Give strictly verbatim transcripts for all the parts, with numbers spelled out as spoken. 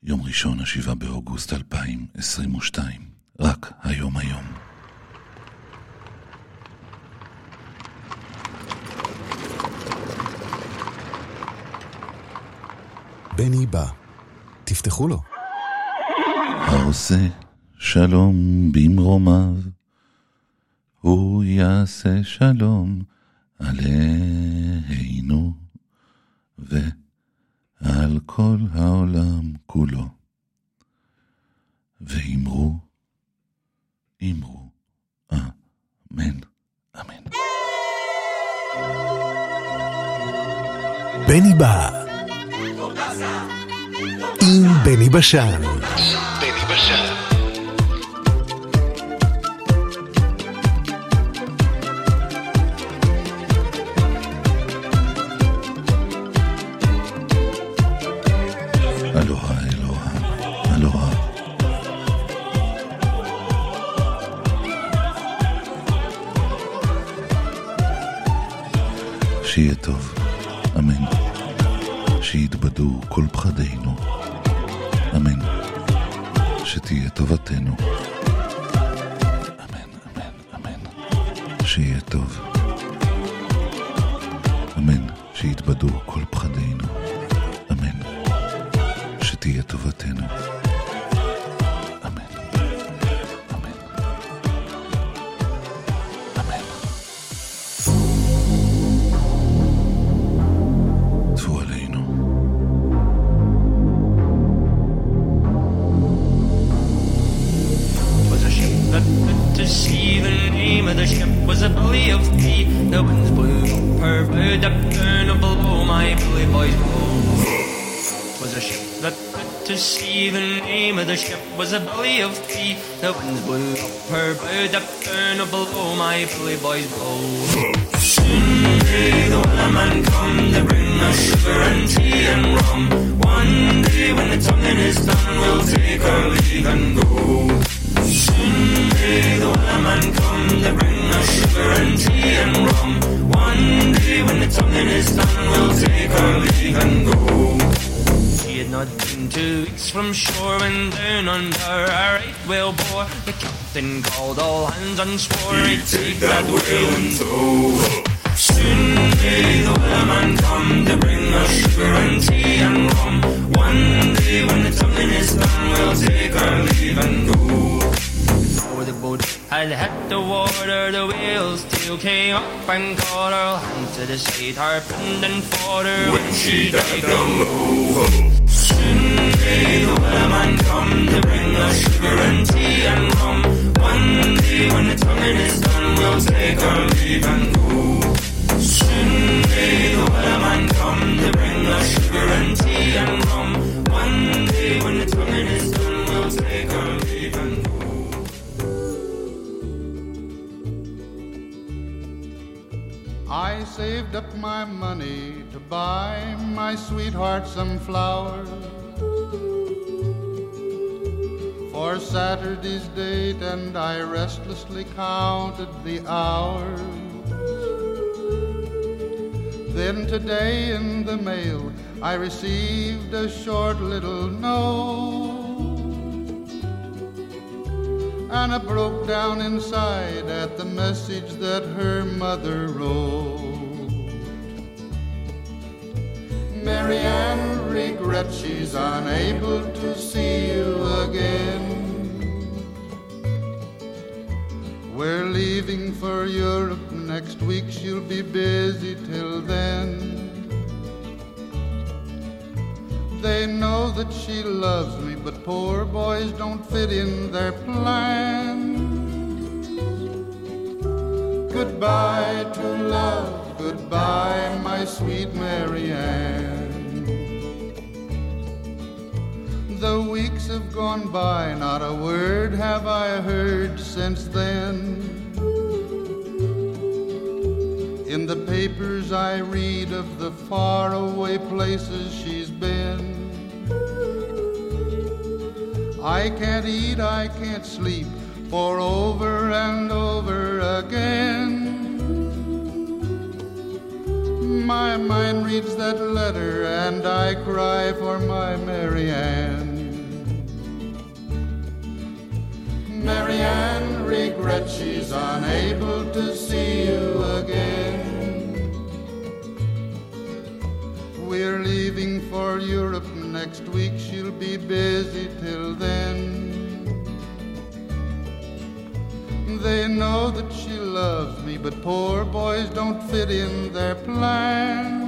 יום ראשון, השבעה באוגוסט אלפיים עשרים ושתיים. רק היום היום. בני בא. תפתחו לו. העושה שלום במרומיו, הוא יעשה שלום עלינו ועל כל העולם כולו. ואמרו, אמרו, אמן, אמן. בני בא. עם בני בשן. בני בשן. אלוהה, אלוהה, אלוהה. שיהיה טוב, אמן. שיתבדו כל פחדינו, אמן. שתהיה טובתנו, אמן, אמן, אמן. שיהיה טוב, אמן. שיתבדו כל פחדינו, אמן. שתהיה טובתנו, אמן, אמן, אמן. טפו עלינו. To see the name of the ship was a belly of tea. The winds blew her bow up down below my bully boys blow. Was a ship that to see the name of the ship was a belly of tea. The winds blew her bow up down below my bully boys blow. Soon may the wellerman come to bring us sugar and tea and rum. One day when the tonguing is done, we'll take our leave and go. Soon may the wellerman come to bring us sugar and tea and rum. One day when the tonguing is done, we'll take our leave and go. He had not been two weeks from shore when down under a right whale bore. The captain called all hands and swore he'd take that whale in tow. Soon may the wellerman come to bring us sugar and tea and rum. One day when the tonguing is done, we'll take our leave and go. The boat had hit the water, the whale's tail came up and caught her. Hand to the side, harpooned and fought her when she died down low. Soon may the wellerman come to bring us sugar and tea and rum. One day when the tonguing is done, we'll take our leave and go. Soon may the wellerman come to bring us sugar and tea and rum. One day when the tonguing is done, we'll take our leave and go. I saved up my money to buy my sweetheart some flowers for Saturday's date, and I restlessly counted the hours. Then today in the mail I received a short little note, and I broke down inside at the message that her mother wrote. Marianne regrets she's unable to see you again. We're leaving for Europe next week, she'll be busy till then. They know that she loves me, but poor boys don't fit in their plans. Goodbye to love, goodbye my sweet Marianne. The weeks have gone by, not a word have I heard since then. In the papers I read of the faraway places she's been. I can't eat, I can't sleep, for over and over again my mind reads that letter and I cry for my Marianne. regret she's unable to see you again. We're leaving for Europe next week, she'll be busy till then. They know that she loves me, but poor boys don't fit in their plan.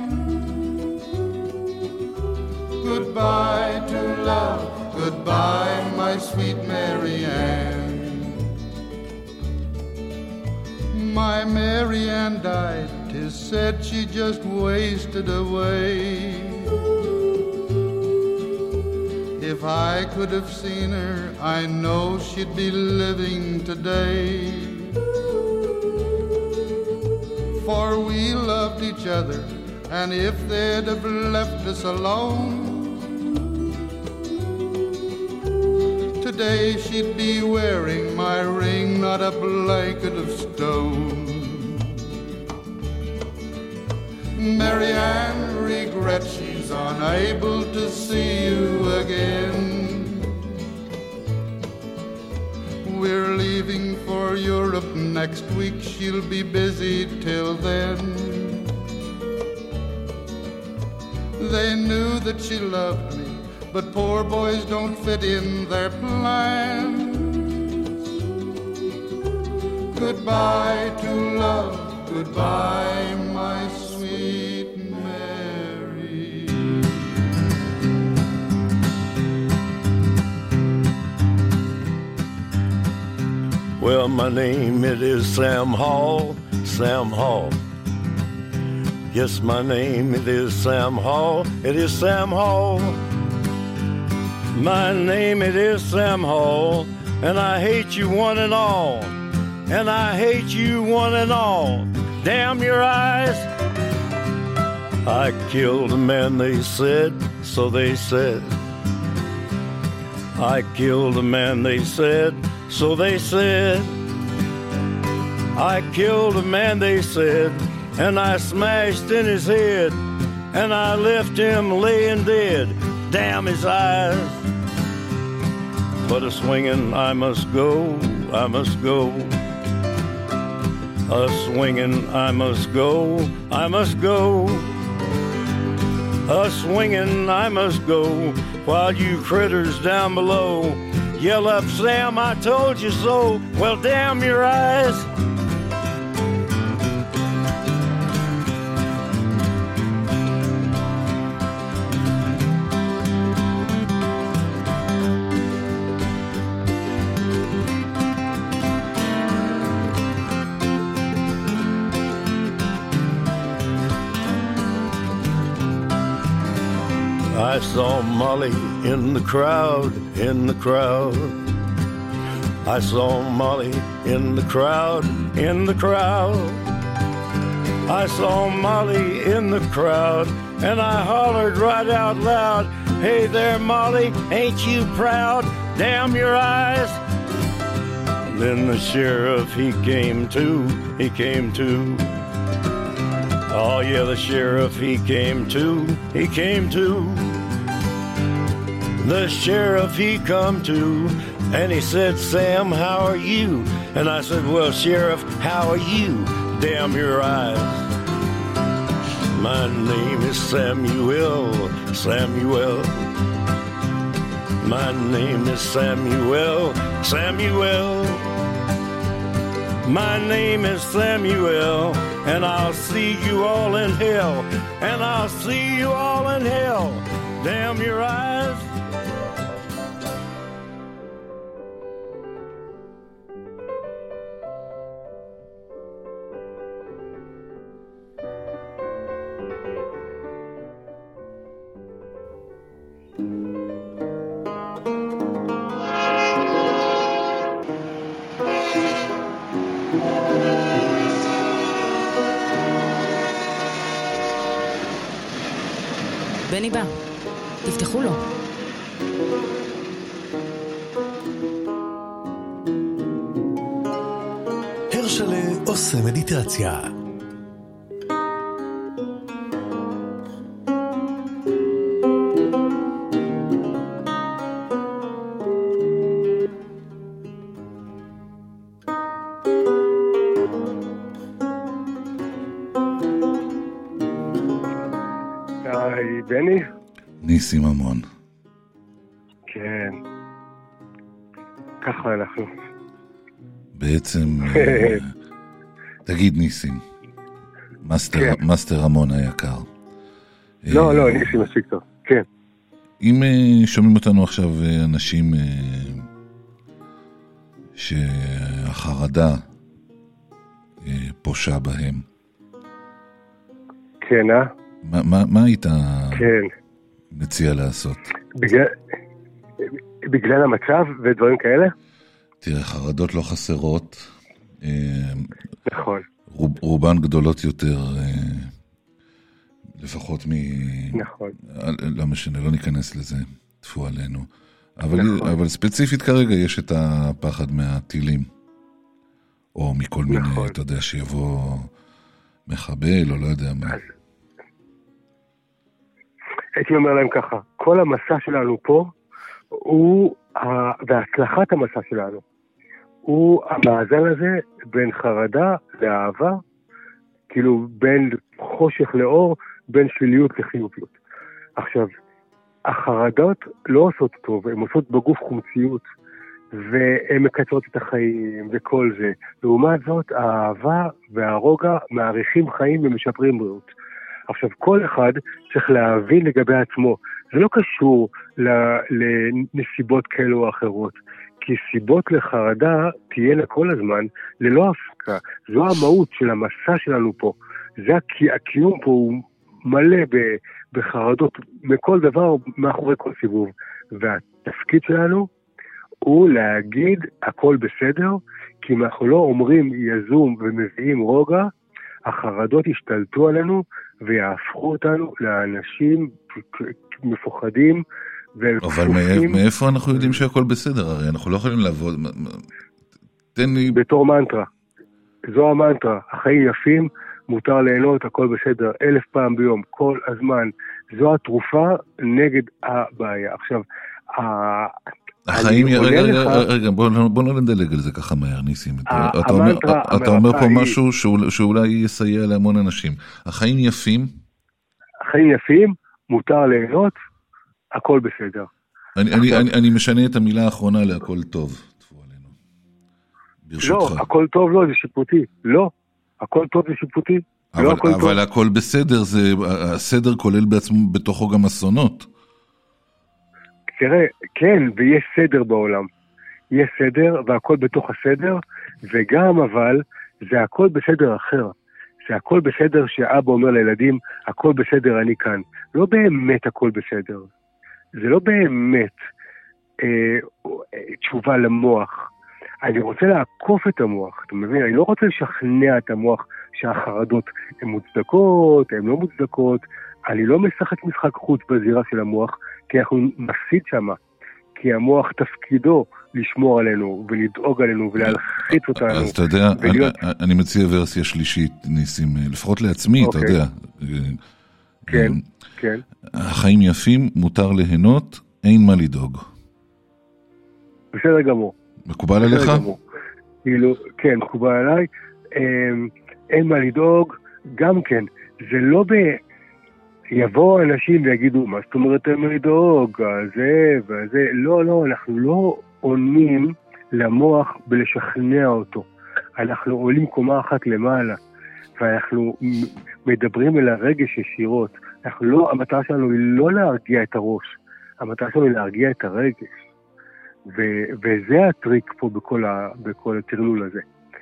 Goodbye to love, goodbye my sweet Mary Ann. My Mary Ann died, 'tis said she just wasted away. If I could have seen her, I know she'd be living today. For we loved each other, and if they'd have left us alone, today she'd be wearing my ring, not a blanket of stone. Mary Ann regrets she's unable to see you again. We're leaving for Europe next week, she'll be busy till then. They knew that she loved me, but poor boys don't fit in their plans. Goodbye to love, goodbye my sweet Mary. Well, my name it is Sam Hall, Sam Hall. Yes, my name it is Sam Hall, it is Sam Hall. My name it is Sam Hall, and I hate you one and all, and I hate you one and all. Damn your eyes. I killed a man, they said, so they said. I killed a man, they said, so they said. I killed a man, they said, and I smashed in his head, and I left him laying dead. Damn his eyes. But a swinging I must go, I must go. A swinging I must go, I must go. A swinging I must go, while you critters down below yell up, Sam, I told you so. Well, damn your eyes. I saw Molly in the crowd, in the crowd. I saw Molly in the crowd, in the crowd. I saw Molly in the crowd, and I hollered right out loud, hey there, Molly, ain't you proud? Damn your eyes. And then the sheriff, he came to, he came to. Oh yeah, the sheriff, he came to, he came to. The sheriff, he come to, and he said, Sam, how are you? And I said, well, Sheriff, how are you? Damn your eyes. My name is Samuel, Samuel. My name is Samuel, Samuel. My name is Samuel, and I'll see you all in hell, and I'll see you all in hell. Damn your eyes. בני בא, תפתחו לו. הרשלה עושה מדיטציה. בני? ניסים המון. כן. ככה אנחנו. בעצם, תגיד ניסים, מאסטר, כן. מאסטר המון היקר. לא, לא, ניסים מספיק טוב. כן. אם שומעים אותנו עכשיו אנשים שהחרדה פושע בהם. כן, אה? מה, מה, מה היית כן. מציע לעשות? בגלל, בגלל המצב ודברים כאלה? תראה, חרדות לא חסרות. נכון. רוב, רובן גדולות יותר, לפחות מ... נכון. לא משנה, לא ניכנס לזה, תפו עלינו. אבל, נכון. אבל ספציפית כרגע יש את הפחד מהטילים. או מכל מיני, נכון. אתה יודע, שיבוא מחבל, או לא יודע מה. אז... הייתי אומר להם ככה, כל המסע שלנו פה, הוא, והצלחת המסע שלנו, הוא המאזן הזה בין חרדה לאהבה, כאילו בין חושך לאור, בין שליליות לחיוביות. עכשיו, החרדות לא עושות טוב, הן עושות בגוף חומציות, והן מקצרות את החיים וכל זה. לעומת זאת, האהבה והרוגע מעריכים חיים ומשפרים בריאות. עכשיו, כל אחד צריך להבין לגבי עצמו. זה לא קשור לנסיבות כאלו או אחרות, כי סיבות לחרדה תהיינה כל הזמן ללא הפסקה. זו המהות של המסע שלנו פה. זה הקיום פה הוא מלא בחרדות מכל דבר, מאחורי כל סיבוב. והתפקיד שלנו הוא להגיד הכל בסדר, כי אם אנחנו לא אומרים יזום ומביאים רוגע, החרדות ישתלטו עלינו ויהפכו אותנו לאנשים מפוחדים אבל מאיפה אנחנו יודעים שהכל בסדר? הרי אנחנו לא יכולים לעבוד. תן לי... בתור מנטרה. זו המנטרה. החיים יפים, מותר ליהנות, הכל בסדר. אלף פעם ביום, כל הזמן. זו התרופה נגד הבעיה. עכשיו, החיים, רגע, רגע, בוא לא נדלג על זה ככה מהר, ניסים. אתה אומר פה משהו שאולי יסייע להמון אנשים. החיים יפים? החיים יפים, מותר ליהנות, הכל בסדר. אני משנה את המילה האחרונה להכל טוב. לא, הכל טוב לא, זה שיפוטי. לא, הכל טוב זה שיפוטי. אבל הכל בסדר, הסדר כולל בעצמו בתוכו גם אסונות. תראה, כן, ויש סדר בעולם. יש סדר, והכל בתוך הסדר, וגם אבל, זה הכל בסדר אחר. זה הכל בסדר שאבא אומר לילדים, הכל בסדר, אני כאן. לא באמת הכל בסדר. זה לא באמת אה, תשובה למוח. אני רוצה לעקוף את המוח, אתה מבין? אני לא רוצה לשכנע את המוח שהחרדות הן מוצדקות, הן לא מוצדקות. אני לא משחק משחק חוץ בזירה של המוח, כי אנחנו מפסיד שמה. כי המוח תפקידו לשמור עלינו ולדאוג עלינו ולהלחיץ אותנו. אז אתה יודע, ולהיות... אני, אני מציע ורסיה שלישית, ניסים, לפחות לעצמי, אתה יודע. כן, כן. החיים יפים, מותר ליהנות, אין מה לדאוג. בסדר גמור. מקובל עליך? כאילו, כן, מקובל עליי. אין מה לדאוג, גם כן. זה לא ב... יבואו אנשים ויגידו, מה זאת אומרת אין מה לדאוג, זה וזה. לא, לא, אנחנו לא עונים למוח בלשכנע אותו. אנחנו עולים קומה אחת למעלה, ואנחנו מדברים אל הרגש ישירות. אנחנו לא, המטרה שלנו היא לא להרגיע את הראש, המטרה שלנו היא להרגיע את הרגש. ו- וזה הטריק פה בכל, ה- בכל הטרלול הזה.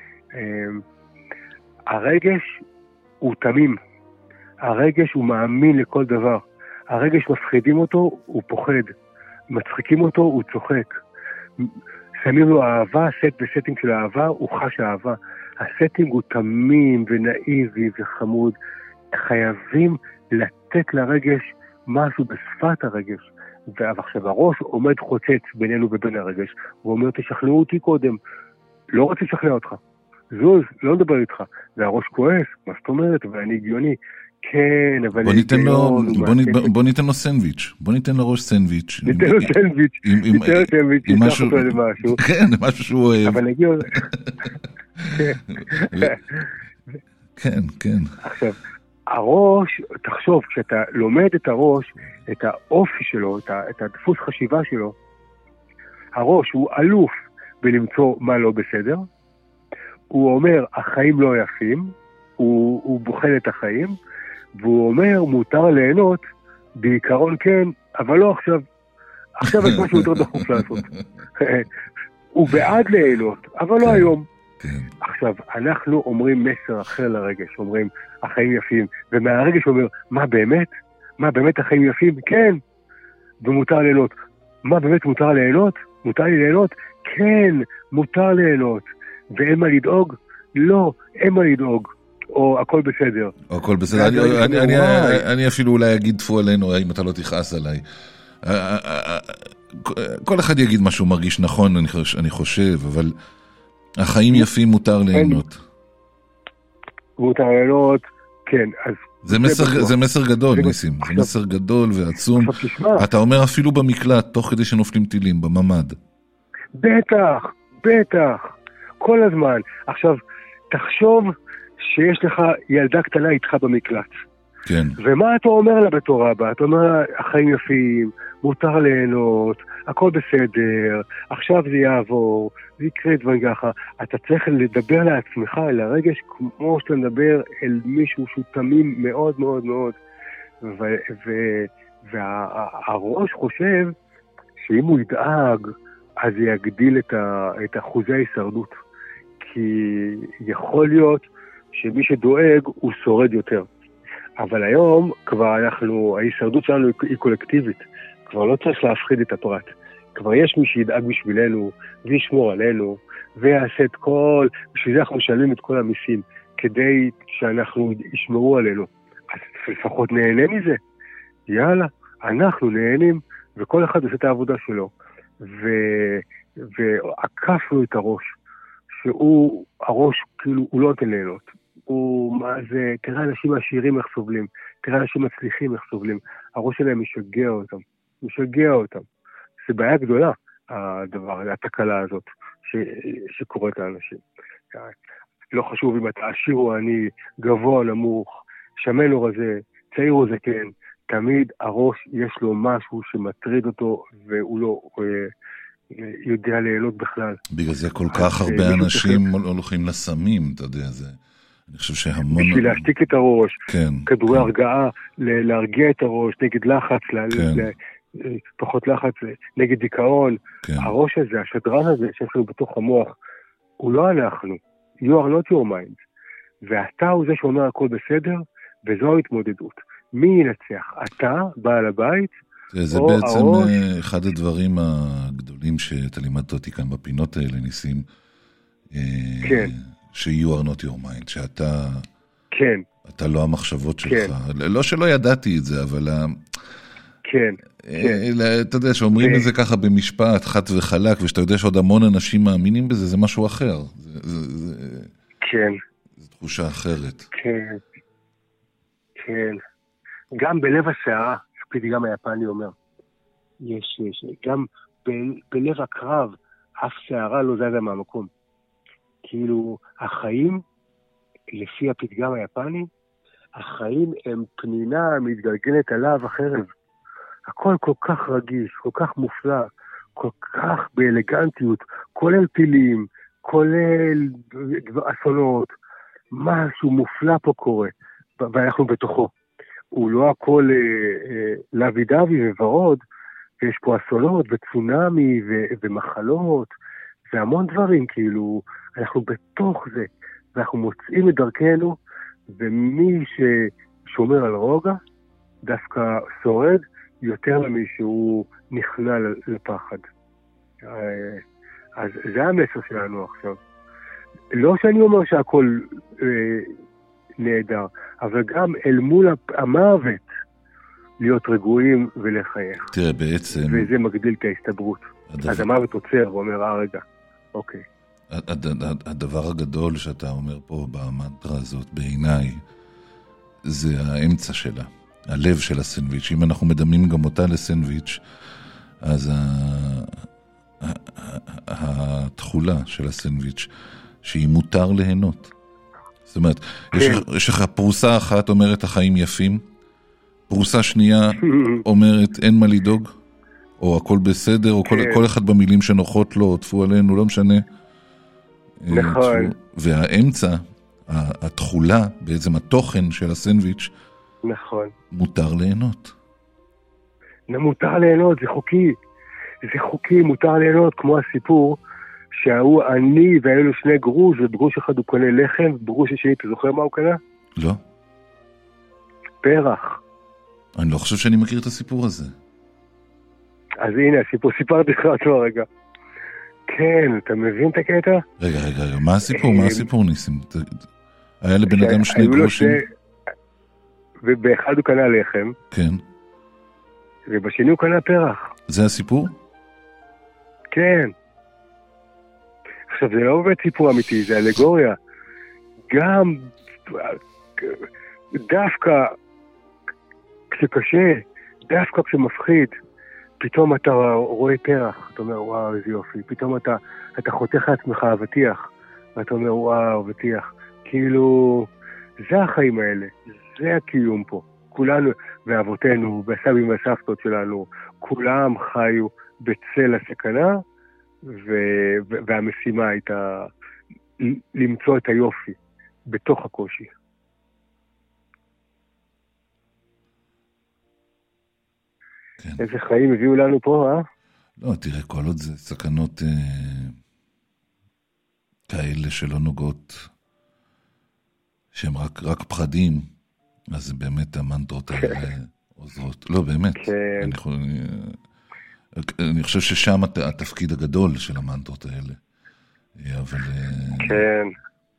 הרגש הוא תמים. הרגש הוא מאמין לכל דבר. הרגש מפחידים אותו, הוא פוחד. מצחיקים אותו, הוא צוחק. שמים לו אהבה, סט וסטינג של אהבה, הוא חש אהבה. הסטינג הוא תמים ונאיבי וחמוד. חייבים לתת לרגש משהו בשפת הרגש. ועכשיו הראש עומד חוצץ בינינו ובין הרגש. הוא אומר, תשכנעו אותי קודם. לא רוצה לשכנע אותך. זוז, לא מדבר איתך. והראש כועס, מה זאת אומרת? ואני הגיוני. כן, אבל... בוא ניתן לו, בוא, נ, בוא ניתן לו סנדוויץ'. בוא ניתן לראש סנדוויץ'. ניתן לו סנדוויץ'. ניתן לו סנדוויץ'. עם משהו... כן, משהו שהוא אוהב. אבל נגיע... כן, כן. עכשיו, הראש, תחשוב, כשאתה לומד את הראש, את האופי שלו, את, ה, את הדפוס חשיבה שלו, הראש הוא אלוף בלמצוא מה לא בסדר, הוא אומר, החיים לא יפים, הוא, הוא בוחן את החיים, והוא אומר, מותר ליהנות, בעיקרון כן, אבל לא עכשיו. עכשיו יש משהו יותר דחוף לעשות. הוא בעד ליהנות, אבל לא היום. עכשיו, אנחנו אומרים מסר אחר לרגש, אומרים, החיים יפים, ומהרגש אומר, מה באמת? מה באמת החיים יפים? כן, ומותר ליהנות. מה באמת מותר ליהנות? מותר לי ליהנות? כן, מותר ליהנות. ואין מה לדאוג? לא, אין מה לדאוג. או הכל בסדר. או הכל בסדר. אני אפילו אולי אגיד תפו עלינו, אם אתה לא תכעס עליי. כל אחד יגיד מה שהוא מרגיש נכון, אני חושב, אבל החיים יפים מותר ליהנות. מותר ליהנות, כן. זה מסר גדול, ניסים. זה מסר גדול ועצום. אתה אומר אפילו במקלט, תוך כדי שנופלים טילים, בממד. בטח, בטח. כל הזמן. עכשיו, תחשוב שיש לך ילדה קטנה איתך במקלט. כן. ומה אתה אומר לה בתור אבא? אתה אומר לה, החיים יפים, מותר ליהנות, הכל בסדר, עכשיו זה יעבור, זה יקרה דברים ככה. אתה צריך לדבר לעצמך, אל הרגש, כמו שאתה מדבר אל מישהו שהוא תמים מאוד מאוד מאוד. והראש חושב שאם הוא ידאג, אז זה יגדיל את אחוזי ההישרדות. כי יכול להיות שמי שדואג הוא שורד יותר. אבל היום כבר אנחנו, ההישרדות שלנו היא קולקטיבית. כבר לא צריך להפחיד את הפרט. כבר יש מי שידאג בשבילנו, וישמור עלינו, ויעשה את כל, בשביל זה אנחנו משלמים את כל המיסים, כדי שאנחנו ישמרו עלינו. אז לפחות נהנה מזה. יאללה, אנחנו נהנים, וכל אחד עושה את העבודה שלו. ו... ועקפנו את הראש. שהוא, הראש, כאילו, הוא לא נותן ליהנות. הוא, מה זה, תראה אנשים עשירים איך סובלים, תראה אנשים מצליחים איך סובלים. הראש שלהם משגע אותם, משגע אותם. זה בעיה גדולה, הדבר, התקלה הזאת, ש, שקורית לאנשים. לא חשוב אם אתה עשיר או עני, גבוה, נמוך, שמן או רזה, צעיר או זקן, תמיד הראש יש לו משהו שמטריד אותו, והוא לא... יודע ליהנות בכלל. בגלל זה כל כך הרבה אנשים הולכים לסמים, אתה יודע, זה... אני חושב שהמון... בשביל להשתיק את הראש, כדורי הרגעה, להרגיע את הראש, נגד לחץ, פחות לחץ, נגד דיכאון. הראש הזה, השדרן הזה שיש לנו בתוך המוח, הוא לא אנחנו. You are not your mind. ואתה הוא זה שאומר הכל בסדר, וזו ההתמודדות. מי ינצח? אתה, בעל הבית, זה בעצם הראש... אחד הדברים הגדולים שאתה לימדת אותי כאן בפינות האלה, ניסים, כן. ש-you are not your mind, שאתה כן. אתה לא המחשבות שלך. כן. לא שלא ידעתי את זה, אבל... כן. אתה יודע, שאומרים את זה ככה במשפט, חד וחלק, ושאתה יודע שעוד המון אנשים מאמינים בזה, זה משהו אחר. כן. זו תחושה אחרת. כן. כן. גם בלב השערה, גם היפני אומר, יש, יש, גם ב- בלב הקרב, אף שערה לא זזה מהמקום. כאילו, החיים, לפי הפתגם היפני, החיים הם פנינה מתגלגלת עליו החרב. הכל כל כך רגיש, כל כך מופלא, כל כך באלגנטיות, כולל פילים, כולל אסונות, משהו מופלא פה קורה, ואנחנו בתוכו. הוא לא הכל אה, אה, לוי דווי וורוד, ויש פה אסונות וצונמי ו- ומחלות, והמון דברים, כאילו, אנחנו בתוך זה, ואנחנו מוצאים את דרכנו, ומי ששומר על רוגע, דווקא שורד, יותר ממי שהוא נכנע לפחד. אה, אז זה המסר שלנו עכשיו. לא שאני אומר שהכל... אה, נהדר, אבל גם אל מול המוות להיות רגועים ולחייך. תראה, בעצם... וזה מגדיל את ההסתברות. הדבר... אז המוות עוצר ואומר, אה רגע, אוקיי. הד... הדבר הגדול שאתה אומר פה במנטרה הזאת, בעיניי, זה האמצע שלה, הלב של הסנדוויץ'. אם אנחנו מדמים גם אותה לסנדוויץ', אז ה... התחולה של הסנדוויץ', שהיא מותר ליהנות. זאת אומרת, יש, יש לך פרוסה אחת אומרת החיים יפים, פרוסה שנייה אומרת אין מה לדאוג, או הכל בסדר, או כל, כל אחד במילים שנוחות לו, או תפו עלינו, לא משנה. נכון. והאמצע, התחולה, בעצם התוכן של הסנדוויץ', נכון. מותר ליהנות. מותר ליהנות, זה חוקי. זה חוקי, מותר ליהנות, כמו הסיפור, שהוא אני והיו לו שני גרוש, ובגרוש אחד הוא קונה לחם, ובגרוש השני, אתה זוכר מה הוא קנה? לא. פרח. אני לא חושב שאני מכיר את הסיפור הזה. אז הנה, הסיפור, סיפרתי לך אותו רגע. כן, אתה מבין את הקטע? רגע, רגע, רגע, מה הסיפור? מה הסיפור, ניסים? היה לבן אדם שני גרושים? ובאחד הוא קנה לחם. כן. ובשני הוא קנה פרח. זה הסיפור? כן. עכשיו, זה לא באמת סיפור אמיתי, זה אלגוריה. גם דווקא כשקשה, דווקא כשמפחיד, פתאום אתה רואה פרח, אתה אומר, וואו, איזה יופי. פתאום אתה, אתה חותך לעצמך אבטיח, ואתה אומר, וואו, אבטיח. כאילו, זה החיים האלה, זה הקיום פה. כולנו, ואבותינו, והסבים והסבתות שלנו, כולם חיו בצל הסכנה, ו- והמשימה הייתה למצוא את היופי בתוך הקושי. כן. איזה חיים הביאו לנו פה, אה? לא, תראה, כל עוד זה סכנות אה, כאלה שלא נוגעות, שהם רק, רק פחדים, אז באמת המנטרות האלה עוזרות. לא, באמת. כן. אני, יכול, אני, אני חושב ששם התפקיד הגדול של המנטרות האלה. אבל... כן.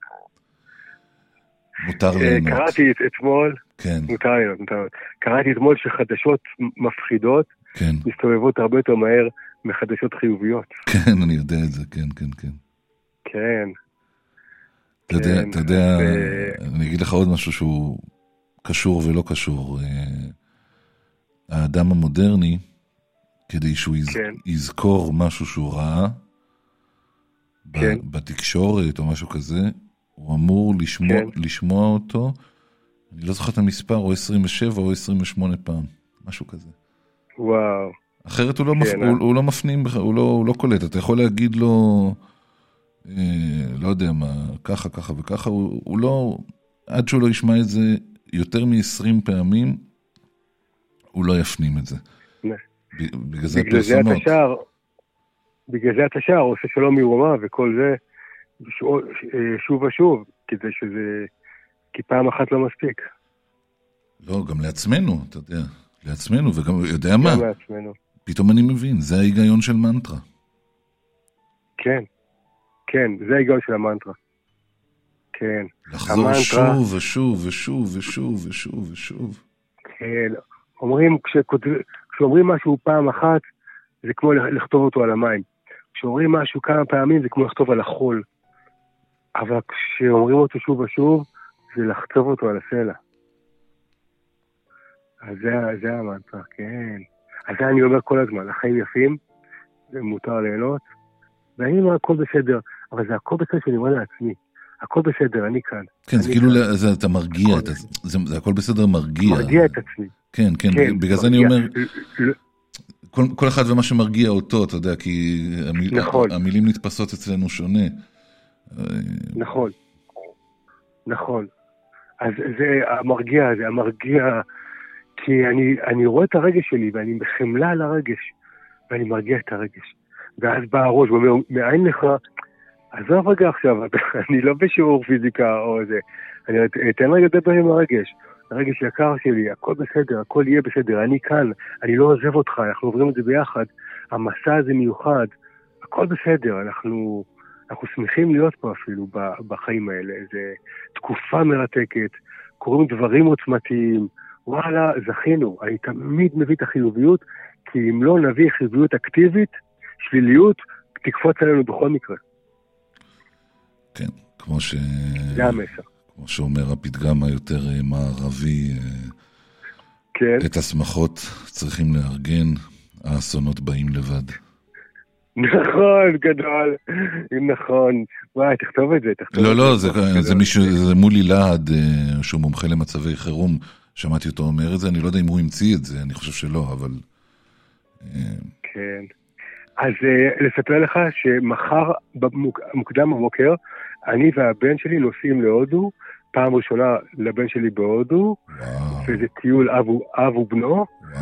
מותר ליהנות. קראתי אתמול, כן. מותר ליהנות, מותר ליהנות. קראתי אתמול שחדשות מפחידות, כן. מסתובבות הרבה יותר מהר מחדשות חיוביות. כן, אני יודע את זה, כן, כן, כן. כן. אתה יודע, אתה יודע, אני אגיד לך עוד משהו שהוא קשור ולא קשור. האדם המודרני, כדי שהוא יזכור משהו שהוא ראה, בתקשורת או משהו כזה, הוא אמור לשמוע אותו, אני לא זוכר את המספר, או עשרים ושבע או עשרים ושמונה פעם, משהו כזה. וואו. אחרת הוא לא, מפ... הוא, הוא לא מפנים, הוא לא, הוא לא קולט. אתה יכול להגיד לו, אה, לא יודע מה, ככה, ככה וככה, הוא, הוא לא, עד שהוא לא ישמע את זה יותר מ-עשרים פעמים, הוא לא יפנים את זה. בגלל זה הפרסומות. בגלל זה אתה שר, עושה שלום מירומה וכל זה, שוב ושוב, כדי שזה, כי פעם אחת לא מספיק. לא, גם לעצמנו, אתה יודע, לעצמנו, וגם, יודע מה? גם לעצמנו. פתאום אני מבין, זה ההיגיון של מנטרה. כן, כן, זה ההיגיון של המנטרה. כן. לחזור המנטרה... שוב ושוב ושוב ושוב ושוב ושוב. כן, אומרים, כשאומרים משהו פעם אחת, זה כמו לכתוב אותו על המים. כשאומרים משהו כמה פעמים, זה כמו לכתוב על החול. אבל כשאומרים אותו שוב ושוב, זה לחצוב אותו על הסלע. אז זה, זה המנטרה, כן. אז זה אני אומר כל הזמן, החיים יפים, זה מותר ליהנות, ואני אומר הכל בסדר, אבל זה הכל בסדר שאני אומר לעצמי. הכל בסדר, אני כאן. כן, זה כאילו, אתה מרגיע, זה הכל בסדר מרגיע. מרגיע את עצמי. כן, כן, בגלל זה אני אומר... כל, כל אחד ומה שמרגיע אותו, אתה יודע, כי המיל, נכון. המילים נתפסות אצלנו שונה. נכון, נכון. אז זה המרגיע, זה המרגיע, כי אני, אני רואה את הרגש שלי, ואני בחמלה על הרגש, ואני מרגיע את הרגש. ואז בא הראש ואומר, מאין לך, עזוב רגע עכשיו, אני לא בשיעור פיזיקה או זה, אני אתן רגע לדבר עם הרגש. הרגש יקר שלי, הכל בסדר, הכל יהיה בסדר, אני כאן, אני לא עוזב אותך, אנחנו עוברים את זה ביחד, המסע הזה מיוחד, הכל בסדר, אנחנו, אנחנו שמחים להיות פה אפילו בחיים האלה, זה תקופה מרתקת, קוראים דברים עוצמתיים, וואלה, זכינו, אני תמיד מביא את החיוביות, כי אם לא נביא חיוביות אקטיבית, שליליות תקפוץ עלינו בכל מקרה. כן, כמו ש... זה המסר. כמו שאומר הפתגם היותר מערבי, כן. את השמחות צריכים לארגן, האסונות באים לבד. נכון, גדול, נכון. וואי, תכתוב את זה, תכתוב לא, את לא, זה. זה, זה מישהו, זה מולי להד, שהוא מומחה למצבי חירום, שמעתי אותו אומר את זה, אני לא יודע אם הוא המציא את זה, אני חושב שלא, אבל... כן. אז לספר לך שמחר, מוקדם בבוקר, אני והבן שלי נוסעים להודו, פעם ראשונה לבן שלי בהודו, וזה טיול אב ובנו,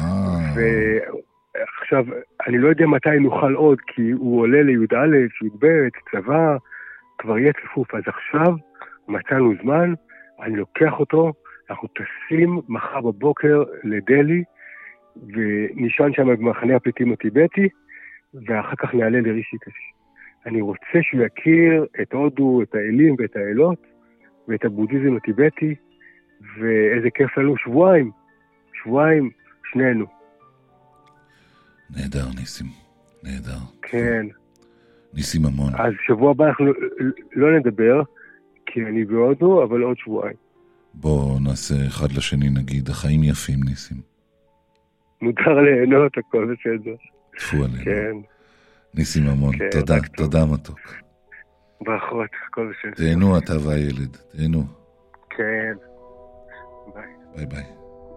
ועכשיו, אני לא יודע מתי נוכל עוד, כי הוא עולה לי"א, י"ב, צבא, כבר יהיה צפוף, אז עכשיו מצאנו זמן, אני לוקח אותו, אנחנו טסים מחר בבוקר לדלי, ונשען שם במחנה הפליטים הטיבטי, ואחר כך נעלה לרישיקש. אני רוצה שהוא יכיר את הודו, את האלים ואת האלות, ואת הבודהיזם הטיבטי, ואיזה כיף לנו, שבועיים, שבועיים, שנינו. נהדר, ניסים, נהדר. כן. ניסים המון. אז שבוע הבא אנחנו לא נדבר, כי אני בהודו, אבל עוד שבועיים. בוא נעשה אחד לשני, נגיד, החיים יפים, ניסים. מותר ליהנות, הכל בסדר. תפו עלינו. כן. ניסים המון, כן, תודה, תודה מתוק. ברכות, הכל בסדר. תהנו אתה והילד, תהנו. כן. ביי. ביי ביי.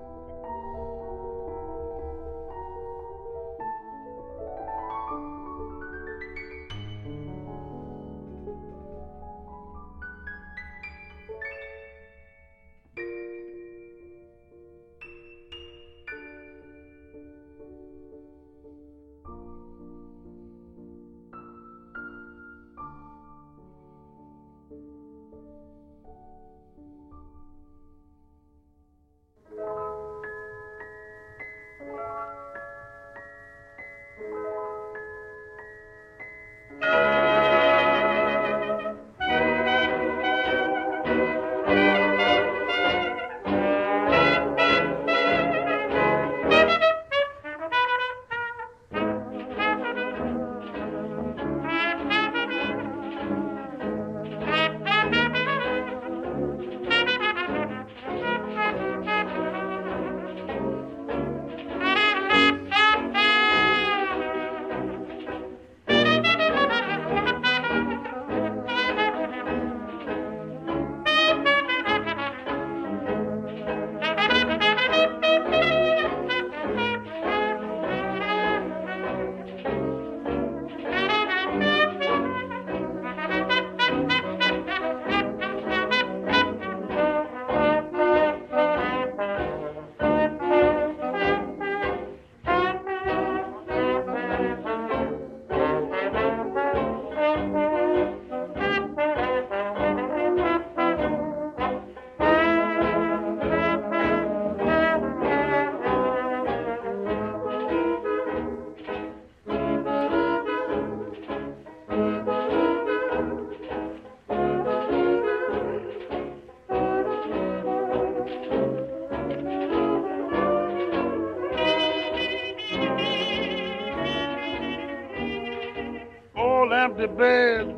Empty bed,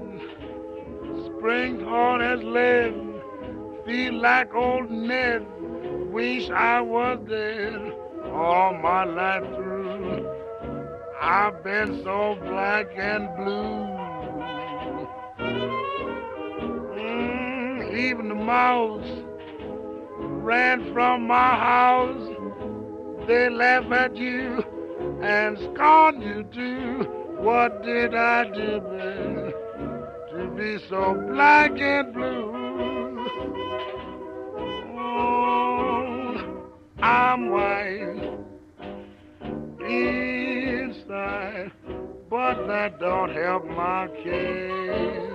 spring hard as lead, feel like old Ned, wish I was dead all my life through. I've been so black and blue. Mm, even the mouse ran from my house. They laugh at you and scorn you too. What did I do, babe, to be so black and blue? Oh, I'm white inside, but that don't help my case.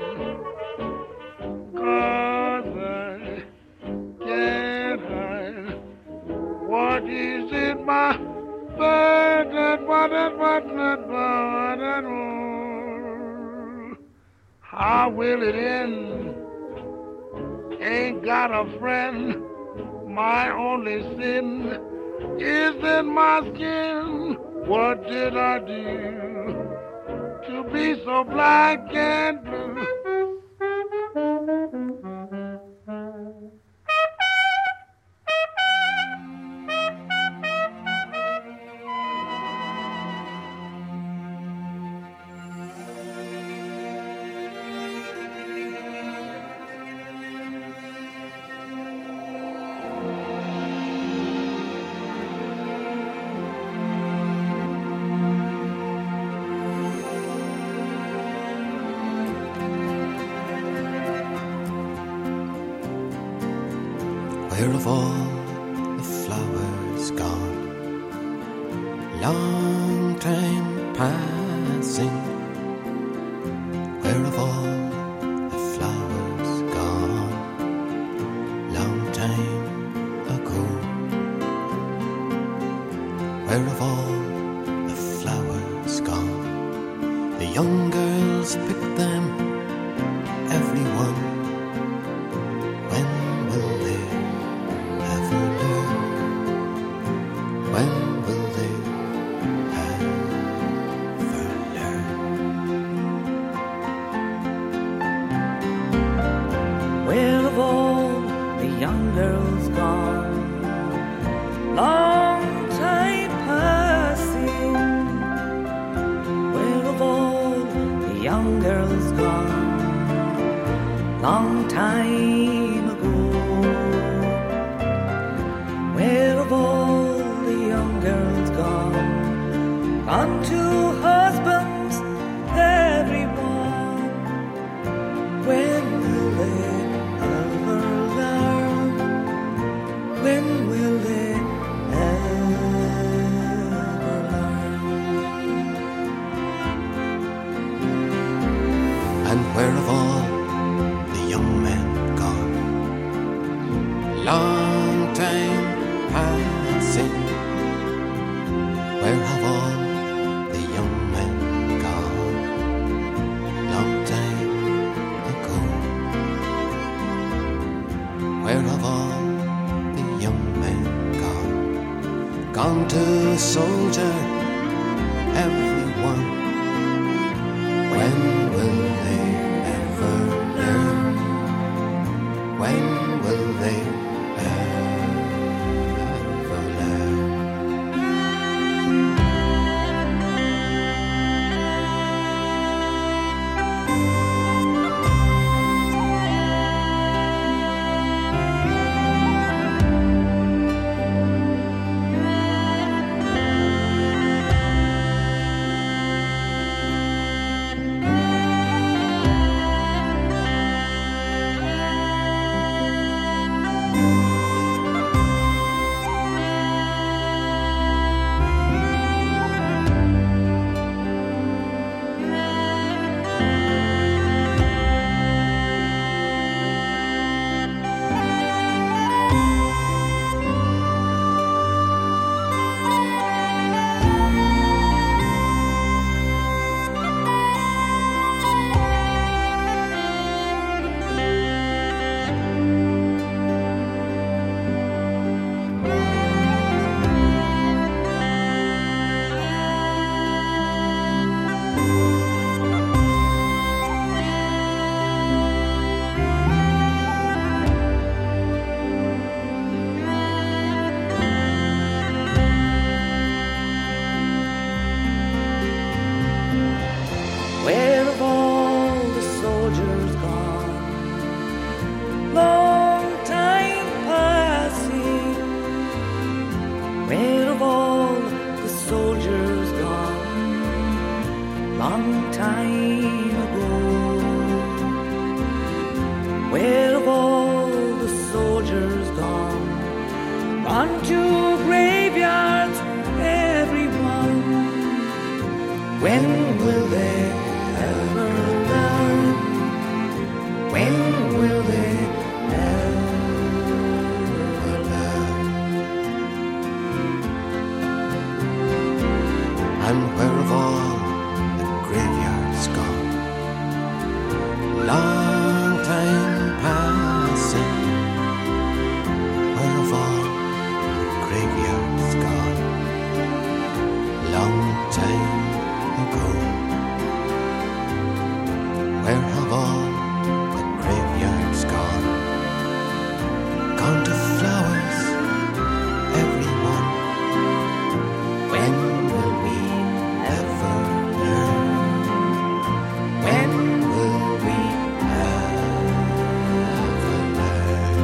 'Cause I can't hide what is in my But that what that what that what that how will it end? Ain't got a friend. My only sin is in my skin. What did I do to be so black and blue? Where have all the flowers gone? Long time passing. Where have all the flowers gone? Long time ago. Where have all the flowers gone? The young girls pick them, everyone. When will they ever learn? When will they ever learn? Where have all the young girls gone? Long time passing. Where have all the young girls gone? Long time ago. Where have all the young girls gone? Gone to husbands, everyone. When will they ever learn? When will they ever learn? And where have all the young men gone? Long time passing. Where have all the young men gone? Long time ago. Where have all the young men gone? Gone to soldier, everyone. When will they ever learn? When will they ever learn? Where have all the soldiers gone? Long time passing. Where have all the soldiers gone? Long time ago. Where have all the soldiers gone? Gone to graveyards, everyone. When will they ever learn? When will they ever learn? And where have all the graveyards gone? Long time passing. Where have all the graveyards gone? Long time ago. Where have all the graveyards gone? Gone to flowers, everyone. When will we ever learn? When will we ever learn?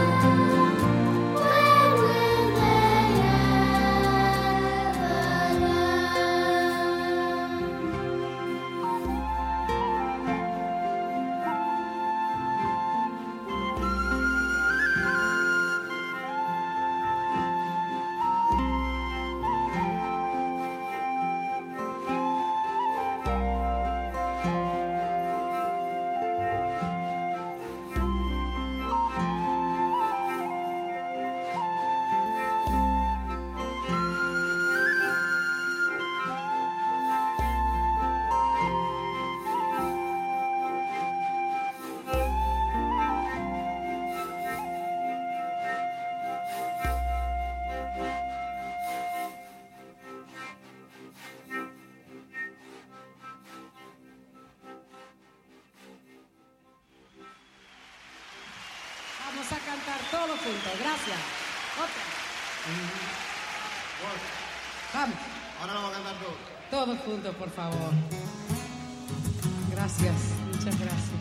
When will they ever learn? todos juntos. Gracias. Otra. Vamos. Ahora lo vamos a cantar todos. Todos juntos, por favor. Gracias. Muchas gracias.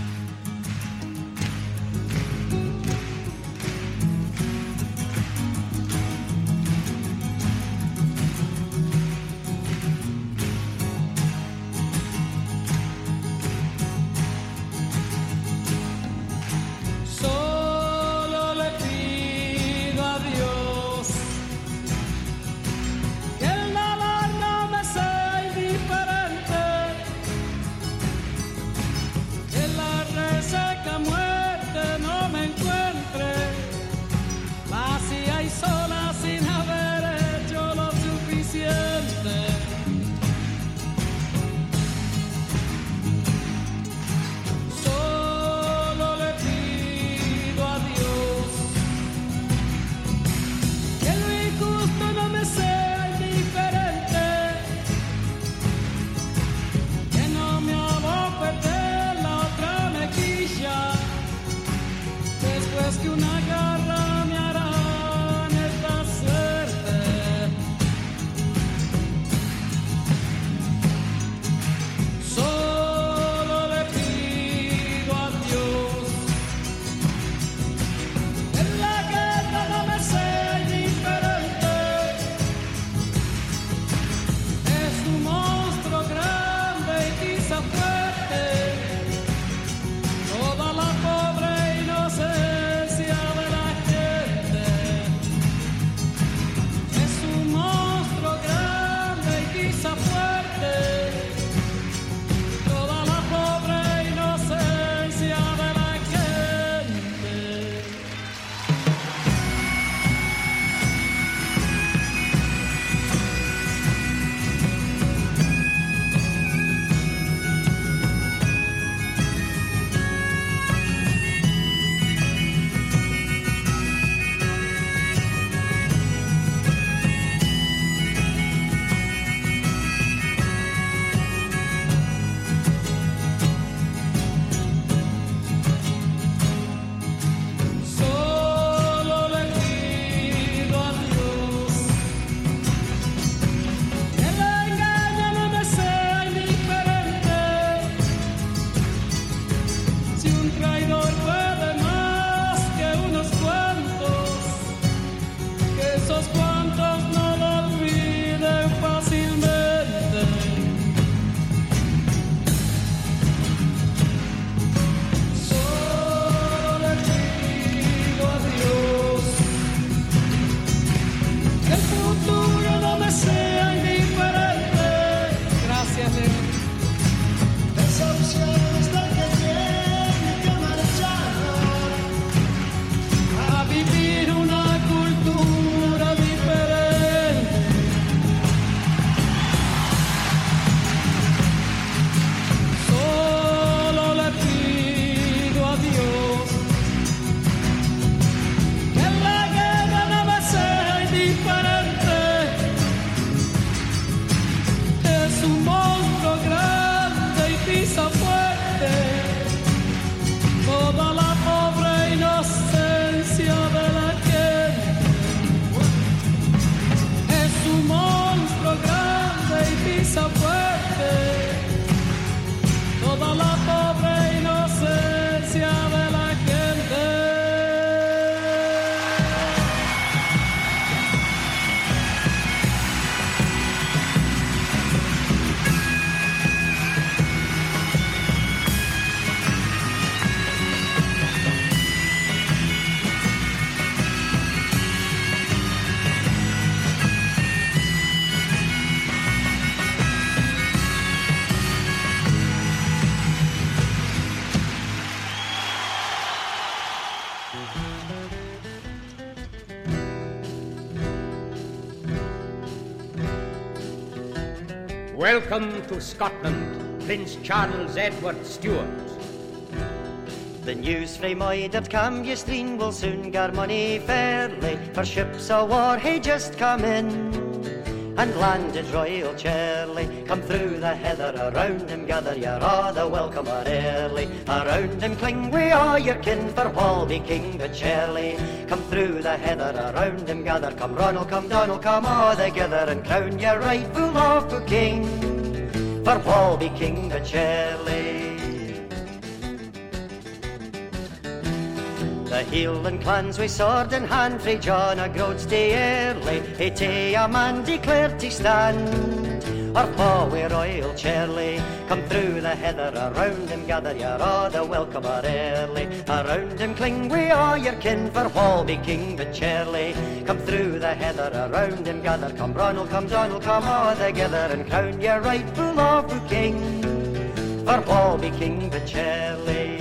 Welcome to Scotland, Prince Charles Edward Stuart. The news frae my that come ye stream will soon gar money fairly, for ships of war hae just come in. and landed Royal Charlie. Come through the heather, around him gather, you're all the welcome or early. Around him cling we all your kin, for Walby King but Charlie. Come through the heather, around him gather, come Ronald, come Donald, come all together, and crown your rightful lawful king, for Walby King but Charlie. The Hieland clans we sword in hand, frae John a Groats day early, he tay a man declared to stand, our paw wi Royal Charlie. Come through the heather, around him gather, you're all the welcome or early. Around him cling we all your kin, for Walby King but Charlie. Come through the heather, around him gather, come Ronald, come Donald, come all together, and crown your rightful lawful king, for Walby King but Charlie.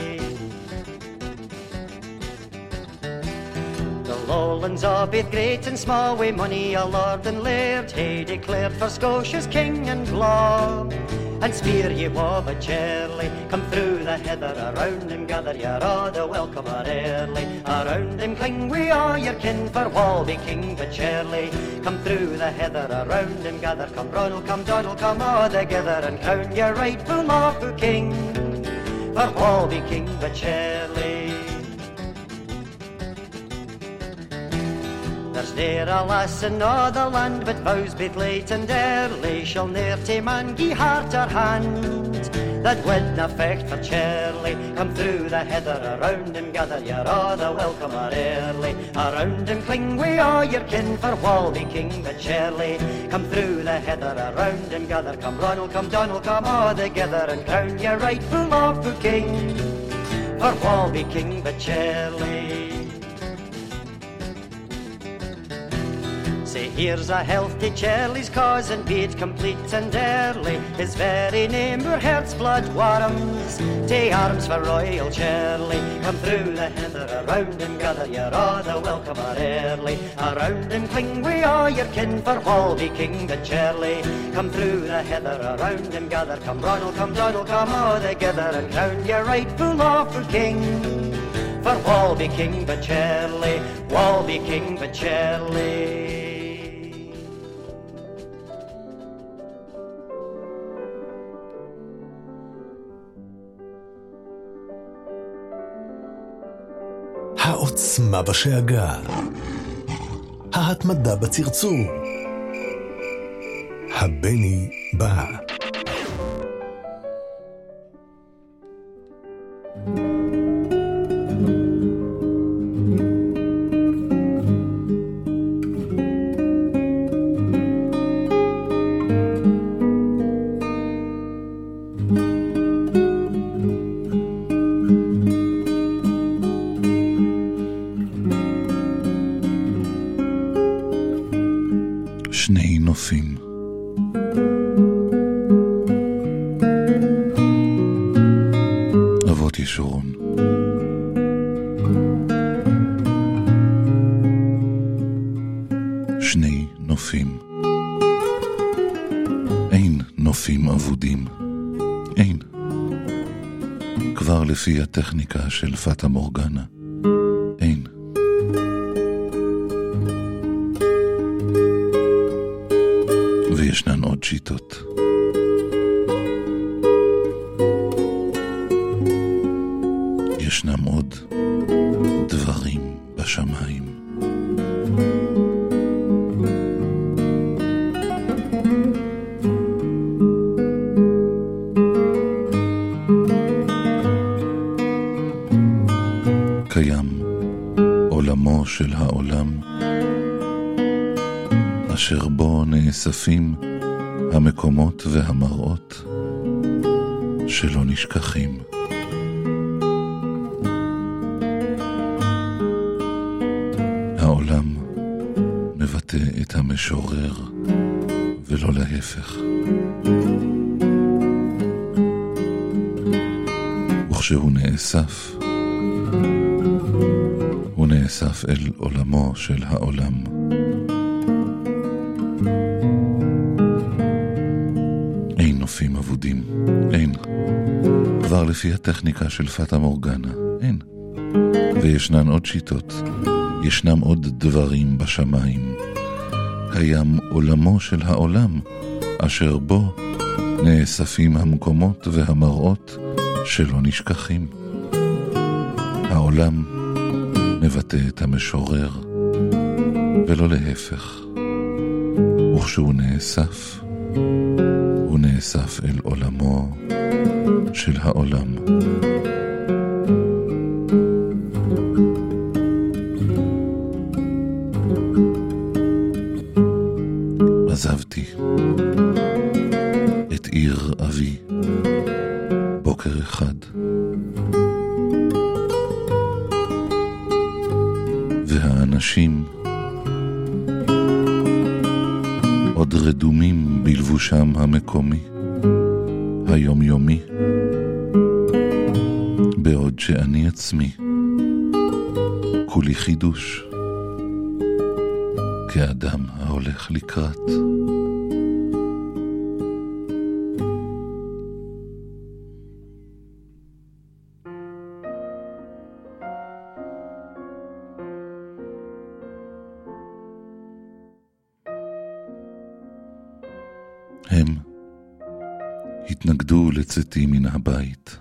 Lowlands all both great and small, wi money a lord and laird, he declared for Scotia's king and law. And spear ye Walby Charlie, come through the heather, around him gather, you're all the welcome or early. Around him cling we all your kin, for Walby King but Charlie. Come through the heather, around him gather, come Ronald, come Donald, come all together, and crown your rightful lawful king, for Walby King but Charlie. There's ne'er a lass in all the land, but vows both late and early shall ne'er tae man gie heart or hand that widna fecht for Charlie. Come through the heather, around him gather, you're all the welcome or early. Around him cling we all your kin, for Walby King but Charlie. Come through the heather, around him gather, come Ronald, come Donald, come all together, and crown your rightful lawful king, for Walby King but Charlie. Say here's a health to Charlie's cause, and be it complete and early. His very name were heart's blood warms, tay arms for Royal Charlie. Come through the heather, around him gather, you're all the welcome or early. Around him cling we all your kin, for Walby King but Charlie. Come through the heather, around him gather, come Ronald, come Donald, come all together, and crown your rightful lawful king, for Walby King but Charlie. Walby King but Charlie. העוצמה בשאגה, ההתמדה בצרצור, הבני בא. שני נופים. אבות ישורון. שני נופים. אין נופים אבודים. אין. כבר לפי הטכניקה של פטה מורגנה. אין. וישנן עוד שיטות. ישנם עוד דברים בשמיים. קיים עולמו של העולם, אשר בו נאספים המקומות והמראות שלא נשכחים. העולם מבטא את המשורר ולא להפך. וכשהוא נאסף, הוא נאסף אל עולמו של העולם. אין נופים אבודים, אין. כבר לפי הטכניקה של פטה מורגנה, אין. וישנן עוד שיטות, ישנם עוד דברים בשמיים, קיים עולמו של העולם, אשר בו נאספים המקומות והמראות שלא נשכחים. העולם מבטא את המשורר, ולא להפך. וכשהוא נאסף, הוא נאסף אל עולמו של העולם. עזבתי את עיר אבי בוקר אחד, והאנשים עוד רדומים בלבושם המקומי, היומיומי, בעוד שאני עצמי כולי חידוש, כאדם ההולך לקראת. הם התנגדו לצאתי מן הבית,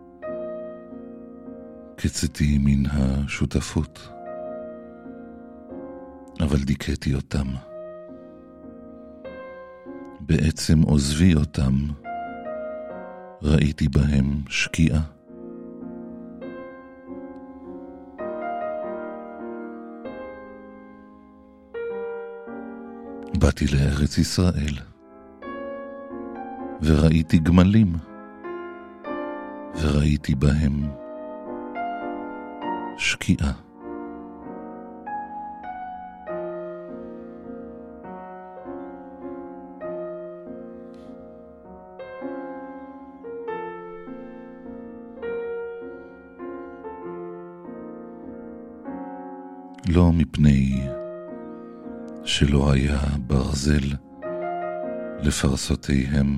כצאתי מן השותפות, אבל דיכאתי אותם. בעצם עוזבי אותם, ראיתי בהם שקיעה. באתי לארץ ישראל, וראיתי גמלים, וראיתי בהם שקיעה. לא מפני שלא היה ברזל לפרסותיהם,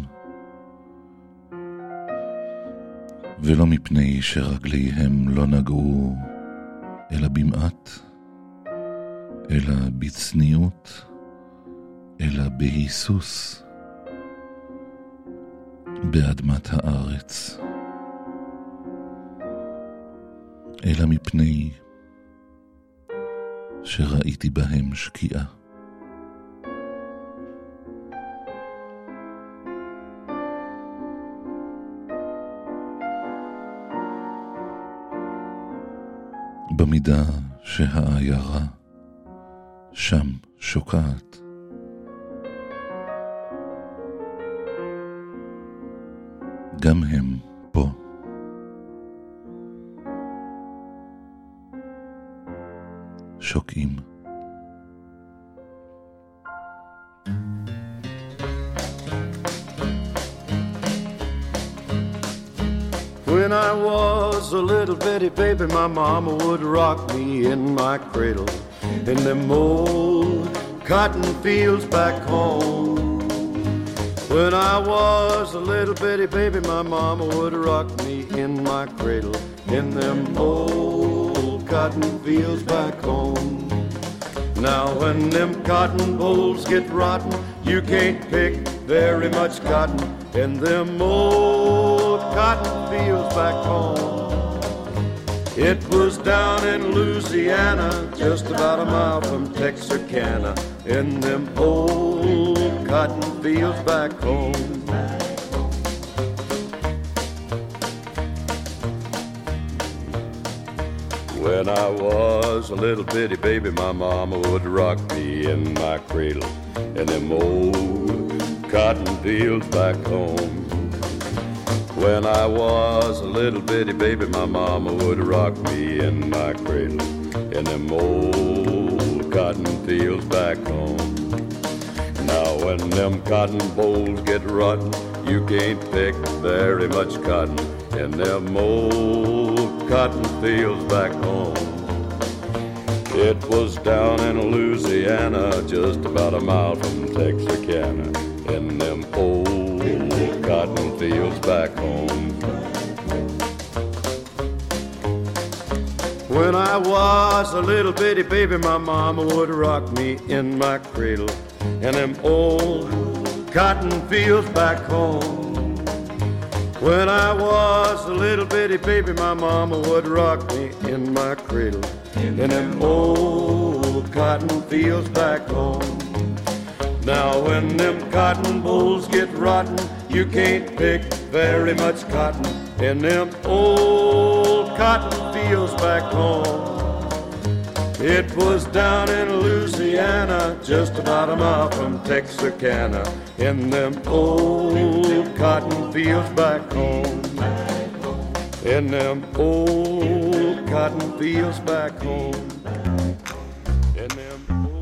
ולא מפני שרגליהם לא נגעו אלא במעט, אלא בצניעות, אלא בהיסוס באדמת הארץ, אלא מפני שראיתי בהם שקיעה. במידה שהעיירה שם שוקעת, גם הם פה. שוקעים. When I was a little bitty baby, my mama would rock me in my cradle in them old cotton fields back home. When I was a little bitty baby, my mama would rock me in my cradle in them old cotton fields back home. Now when them cotton bolls get rotten, you can't pick very much cotton in them old cotton fields back home. It was down in Louisiana, just about a mile from Texarkana, in them old cotton fields back home. When I was a little bitty baby, my mama would rock me in my cradle in them old cotton fields back home. When I was a little bitty baby, my mama would rock me in my cradle in them old cotton fields back home. Now when them cotton bolls get rotten, you can't pick very much cotton in them old cotton fields back home. It was down in Louisiana, just about a mile from Texarkana, in them old cotton fields back home. When I was a little bitty baby, my mama would rock me in my cradle in them old cotton fields back home. When I was a little bitty baby, my mama would rock me in my cradle in them old cotton fields back home. Now when them cotton bolls get rotten, you can't pick very much cotton in them old cotton fields back home. It was down in Louisiana, just about a mile from Texarkana, in them old cotton fields back home. In them old cotton fields back home. In them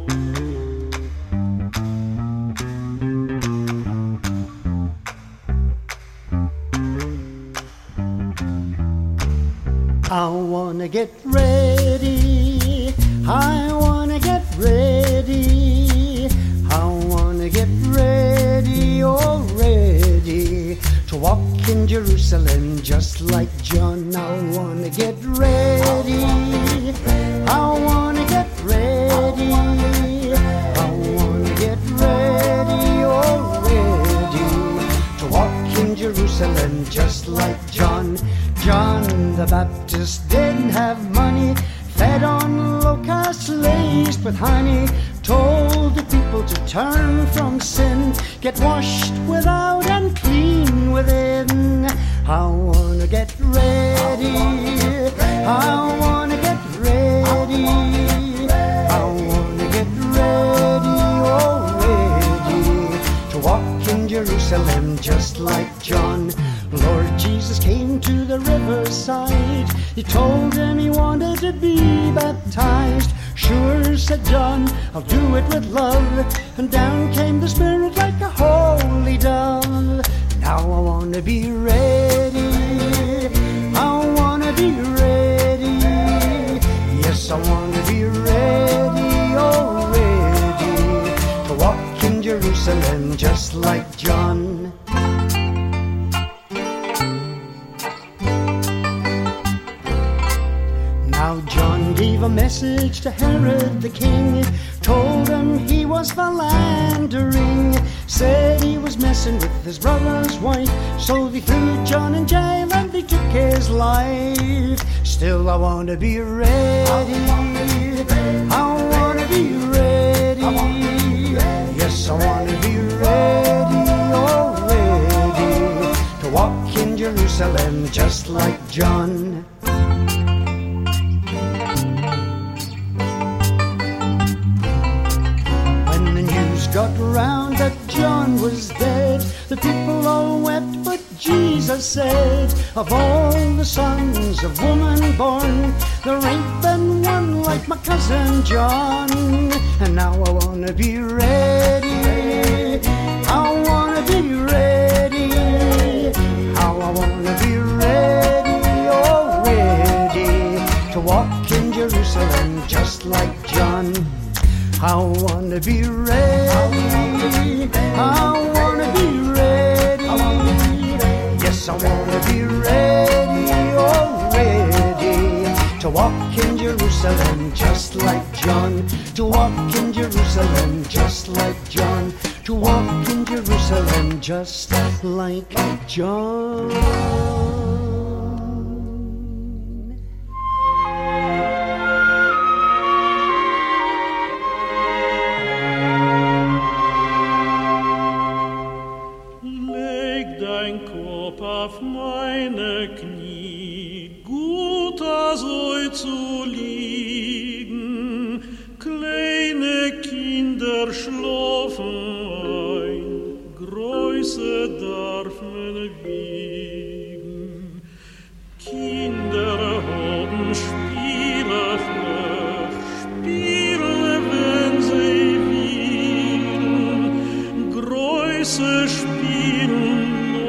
I wanna get ready, I wanna get ready, I wanna get ready, oh ready, to walk in Jerusalem just like John. I wanna get ready, I wanna get ready, I wanna get ready, oh ready, to walk in Jerusalem just like John. John the Baptist didn't have money, fed on locusts laced with honey, told the people to turn from sin, get washed without and clean within. I wanna get ready, I wanna get ready, I wanna get ready, oh ready, to walk in Jerusalem just like John. Lord Jesus came to the riverside. He told him he wanted to be baptized. Sure, said John, I'll do it with love. And down came the Spirit like a holy dove. Now I want to be ready, I want to be ready. Yes, I want to be ready, oh ready, to walk in Jerusalem just like John. Now John gave a message to Herod the king, told him he was philandering, said he was messing with his brother's wife, so they threw John in jail and they took his life. Still I want to be ready, I want to be ready, yes I want to be ready, oh ready, to walk in Jerusalem just like John. Got round that John was dead, the people all wept, but Jesus said, of all the sons of woman born, there ain't been one like my cousin John. And now I wanna be ready, I wanna be ready, how I wanna be ready, oh ready, to walk in Jerusalem just like John. I wanna be ready, I wanna be ready, yes I wanna be ready, oh ready, to walk in Jerusalem just like John, to walk in Jerusalem just like John, to walk in Jerusalem just like John. Auf meine Knie, gut soll zu liegen, kleine Kinder schlafen ein, Größe darf man wiegen. Kinder haben Spiele frech, Spiele, wenn sie willen, Größe spielen.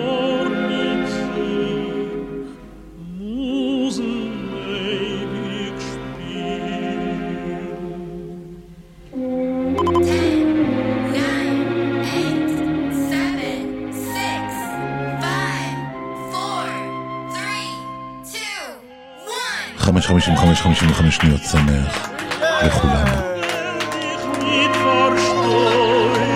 חמש חמישים וחמש חמישים וחמש שניות שמח לכולם.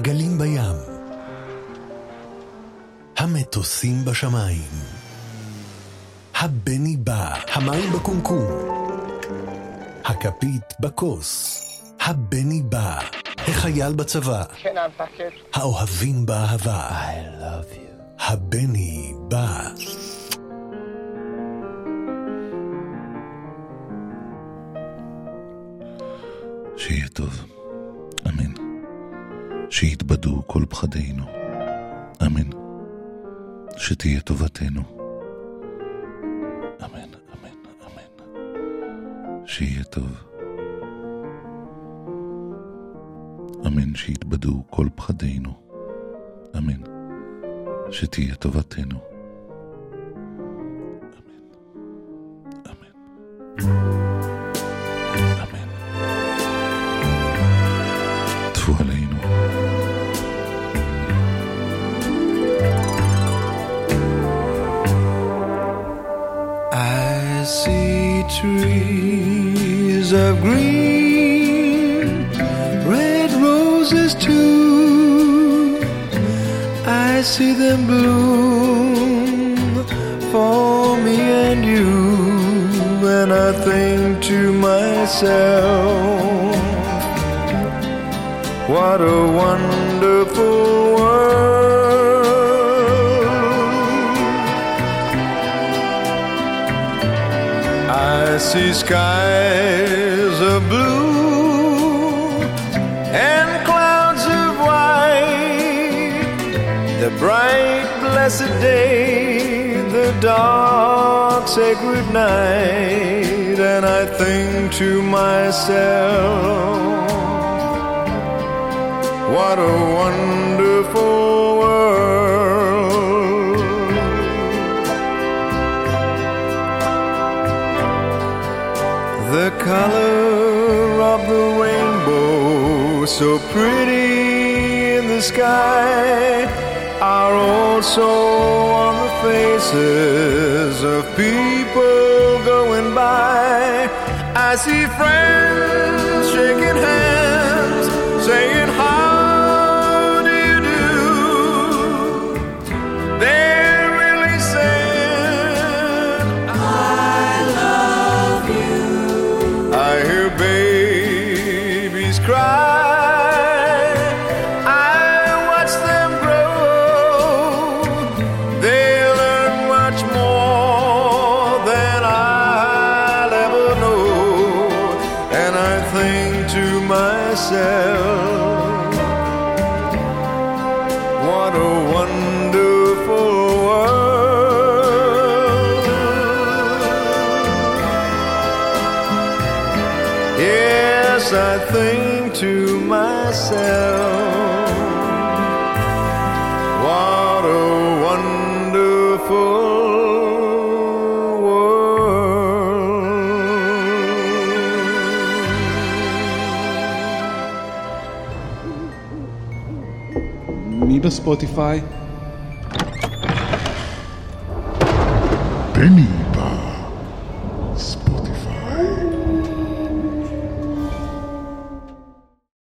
הגלים בים, המטוסים בשמיים, הבני בא, המים בקומקום, הכפית בכוס, הבני בא, החייל בצבא, האוהבים באהבה, I love you, הבני בא. שיהיה טוב, אמן. שיתבדו כל פחדינו, אמן. שתהיה טובתנו, אמן, אמן, אמן. שיהיה טוב, אמן. שיתבדו כל פחדינו, אמן. שתהיה טובתנו, אמן, אמן. עלינו. I see trees of green, red roses too. I see them bloom for me and you, and I think to myself, what a wonderful world. I see skies of blue and clouds of white, the bright blessed day, the dark sacred night, and I think to myself, what a wonderful world. The color of the rainbow, so pretty in the sky, are also on the faces of people going by. I see friends shaking hands, saying hi. What a wonderful world. Yes, I think to myself, what a wonderful בספוטיפיי. בני